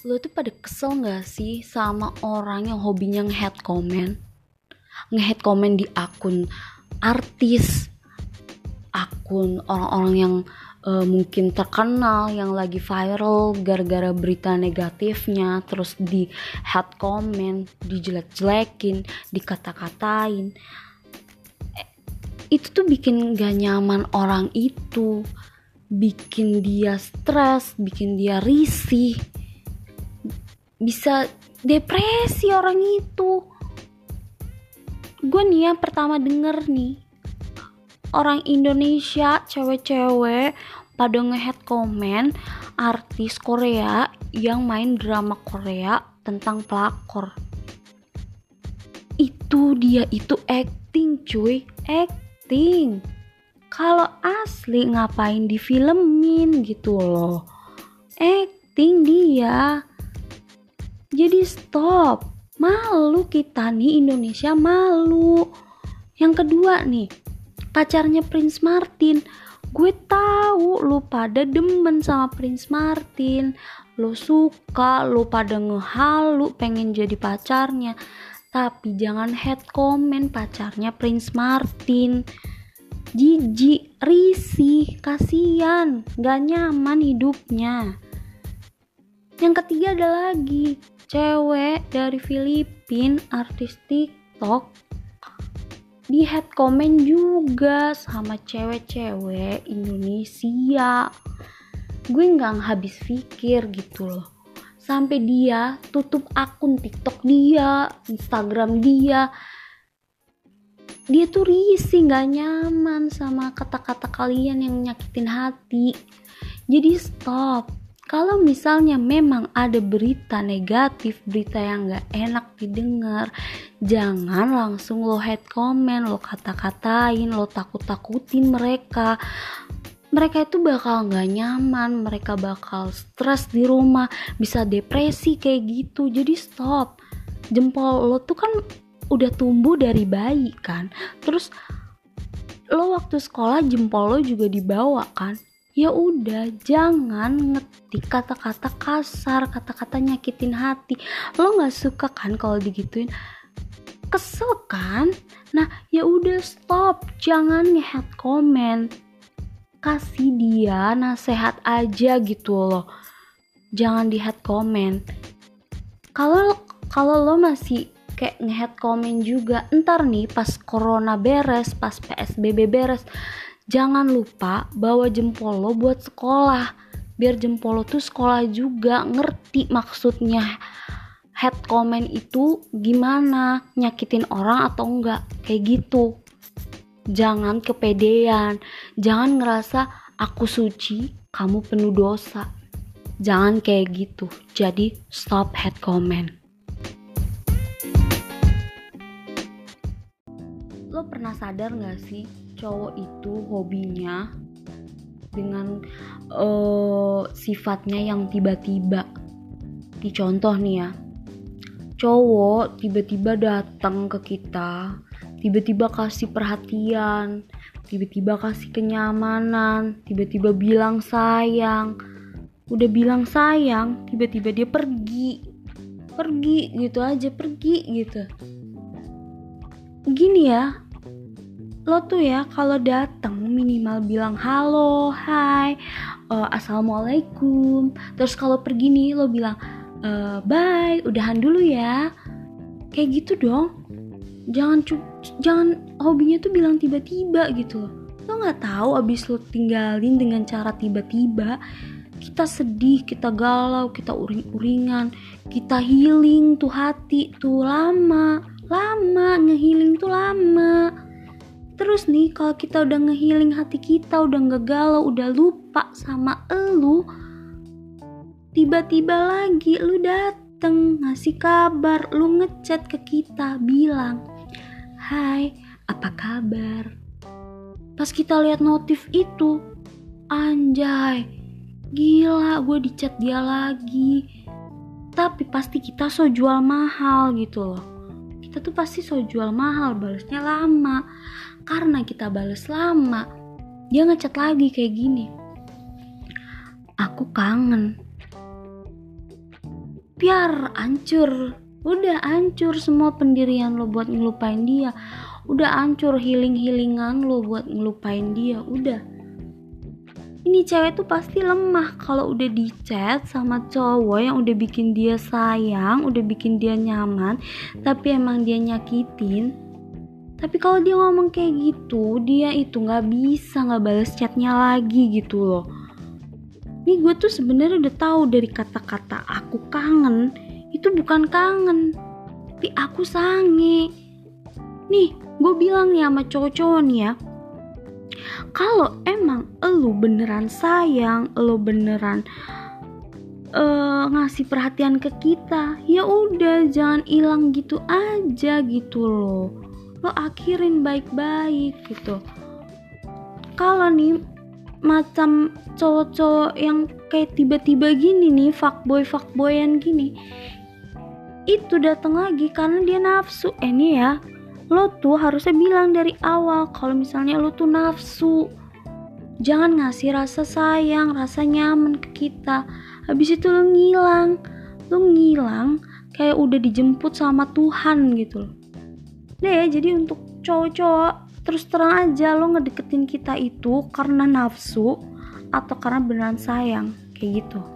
Lo tuh pada kesel gak sih sama orang yang hobinya nge-hate comment? Nge-hate comment di akun artis, akun orang-orang yang mungkin terkenal, yang lagi viral gara-gara berita negatifnya, terus di hate comment, dijelek-jelekin, dikata-katain. Itu tuh bikin gak nyaman orang itu, bikin dia stres, bikin dia risih, bisa depresi orang itu. Gue nih ya pertama denger nih, orang Indonesia cewek-cewek pada nge-hate comment artis Korea yang main drama Korea tentang pelakor. Itu dia itu acting cuy, acting. Kalau asli ngapain difilmin gitu loh, acting dia. Jadi stop, malu kita nih Indonesia, malu. Yang kedua nih, pacarnya Prince Martin. Gue tahu lu pada demen sama Prince Martin, lu suka, lu pada ngehalu pengen jadi pacarnya. Tapi jangan hate comment pacarnya Prince Martin. Jijik, risih, kasihan, gak nyaman hidupnya. Yang ketiga ada lagi, cewek dari Filipina, artis TikTok, di hate comment juga sama cewek-cewek Indonesia. Gue gak habis pikir gitu loh, sampai dia tutup akun TikTok dia, Instagram dia. Dia tuh risih, gak nyaman sama kata-kata kalian yang nyakitin hati. Jadi stop. Kalau misalnya memang ada berita negatif, berita yang gak enak didengar, jangan langsung lo hate comment, lo kata-katain, lo takut-takutin mereka. Mereka itu bakal gak nyaman, mereka bakal stres di rumah, bisa depresi kayak gitu. Jadi stop. Jempol lo tuh kan udah tumbuh dari bayi kan, terus lo waktu sekolah jempol lo juga dibawa kan. Ya udah, jangan ngetik kata-kata kasar, kata-kata nyakitin hati. Lo nggak suka kan kalau digituin, kesel kan? Nah ya udah stop, jangan nge-hate comment, kasih dia nasihat aja gitu loh, jangan di hate comment. Kalau lo masih kayak nge-hate comment juga, ntar nih pas corona beres, pas PSBB beres, jangan lupa bawa jempol lo buat sekolah, biar jempol lo tuh sekolah juga, ngerti maksudnya hate comment itu gimana, nyakitin orang atau enggak, kayak gitu. Jangan kepedean, jangan ngerasa aku suci, kamu penuh dosa, jangan kayak gitu. Jadi stop hate comment. Lo pernah sadar gak sih, cowok itu hobinya dengan sifatnya yang tiba-tiba. Di contoh nih ya, cowok tiba-tiba datang ke kita, tiba-tiba kasih perhatian, tiba-tiba kasih kenyamanan, tiba-tiba bilang sayang. Udah bilang sayang, tiba-tiba dia pergi gitu aja, pergi gitu. Gini ya, lo tuh ya kalau datang minimal bilang halo, hai, assalamualaikum. Terus kalau pergi nih lo bilang bye, udahan dulu ya. Kayak gitu dong. Jangan hobinya tuh bilang tiba-tiba gitu loh. Lo nggak tahu abis lo tinggalin dengan cara tiba-tiba, kita sedih, kita galau, kita uring-uringan, kita healing tuh hati tuh lama, ngehealing tuh lama. Terus nih kalau kita udah ngehealing hati kita, udah gak galau, udah lupa sama elu, tiba-tiba lagi lu dateng ngasih kabar, lu ngechat ke kita bilang hai, apa kabar. Pas kita lihat notif itu, anjay, gila, gue dicat dia lagi. Tapi pasti kita so jual mahal gitu loh. Kita tuh pasti so jual mahal, balesnya lama. Karena kita bales lama, dia ngechat lagi kayak gini, aku kangen. biar hancur. Udah hancur semua pendirian lo buat ngelupain dia. Udah hancur healing-healingan lo buat ngelupain dia. Udah. Ini cewek tuh pasti lemah kalau udah di chat sama cowok yang udah bikin dia sayang, udah bikin dia nyaman, tapi emang dia nyakitin. Tapi kalau dia ngomong kayak gitu, dia itu nggak bisa nggak balas chatnya lagi gitu loh. Nih gue tuh sebenarnya udah tahu dari kata-kata aku kangen, itu bukan kangen, tapi aku sange. Nih gue bilang nih sama cowok-cowok nih ya, kalau emang elu beneran sayang, elu beneran ngasih perhatian ke kita, ya udah jangan hilang gitu aja gitu loh. Lo akhirin baik-baik gitu. Kalau nih macam cowok-cowok yang kayak tiba-tiba gini nih, fuckboyan gini, itu datang lagi karena dia nafsu. Nih ya, lo tuh harusnya bilang dari awal kalau misalnya lo tuh nafsu. Jangan ngasih rasa sayang, rasa nyaman ke kita. Habis itu lo ngilang kayak udah dijemput sama Tuhan gitu loh. Deh, jadi untuk cowok-cowok, terus terang aja lo ngedeketin kita itu karena nafsu atau karena beneran sayang, kayak gitu.